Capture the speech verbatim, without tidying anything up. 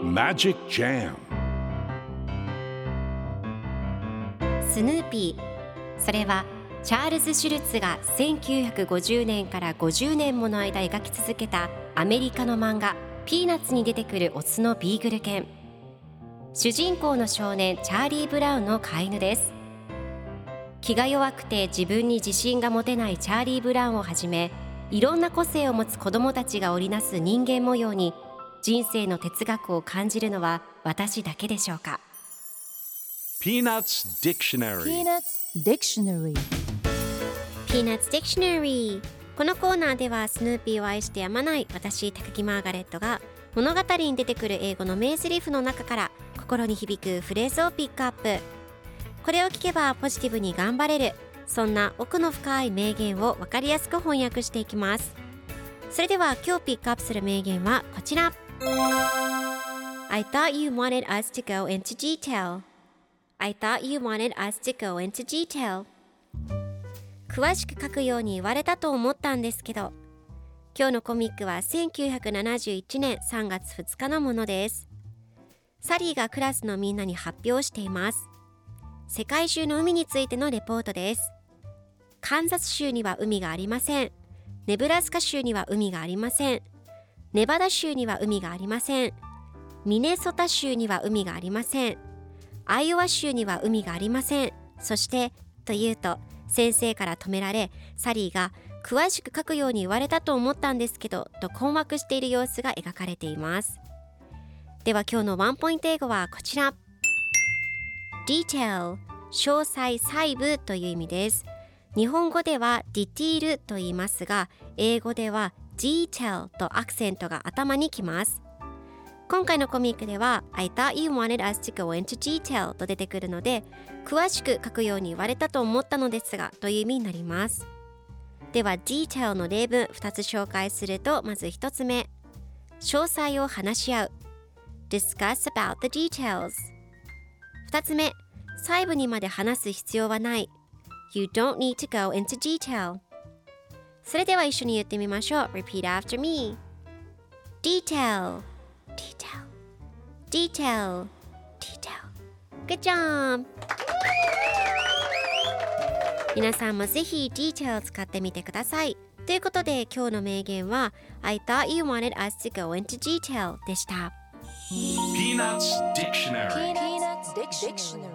Magic Jam スヌーピー、それはチャールズ・シュルツがせんきゅうひゃくごじゅうねんからごじゅうねんもの間描き続けたアメリカの漫画ピーナッツに出てくるオスのビーグル犬。主人公の少年チャーリー・ブラウンの飼い犬です。気が弱くて自分に自信が持てないチャーリー・ブラウンをはじめ、いろんな個性を持つ子どもたちが織りなす人間模様に人生の哲学を感じるのは私だけでしょうか。 Peanuts Dictionary Peanuts Dictionary Peanuts Dictionary。 このコーナーではスヌーピーを愛してやまない私高木マーガレットが物語に出てくる英語の名台詞の中から心に響くフレーズをピックアップ。これを聞けばポジティブに頑張れる、そんな奥の深い名言を分かりやすく翻訳していきます。それでは今日ピックアップする名言はこちら。 I thought you wanted us to go into detail. I thought you wanted us to go into detail. 詳しく書くように言われたと思ったんですけど。今日のコミックはせんきゅうひゃくななじゅういちねんさんがつふつかのものです。サリーがクラスのみんなに発表しています。世界中の海についてのレポートです。カンザス州には海がありません。ネブラスカ州には海がありません。ネバダ州には海がありません。ミネソタ州には海がありません。アイオワ州には海がありません。そしてというと先生から止められ、サリーが詳しく書くように言われたと思ったんですけどと困惑している様子が描かれています。では今日のワンポイント英語はこちら。 Detail、 詳細細部という意味です。日本語ではディティールと言いますが、英語では Detail とアクセントが頭にきます。今回のコミックでは I thought you wanted us to go into detail と出てくるので、詳しく書くように言われたと思ったのですがという意味になります。では detail の例文ふたつ紹介すると、まずひとつめ、詳細を話し合う discuss about the details。 ふたつめ、細部にまで話す必要はない You don't need to go into detail。 それでは一緒に言ってみましょう。 Repeat after me。 Detail Detail Detail Detail Good job。皆さんもぜひ detail を使ってみてください。ということで今日の名言は I thought you wanted us to go into detail でした。 Peanuts Dictionary Peanuts Dictionary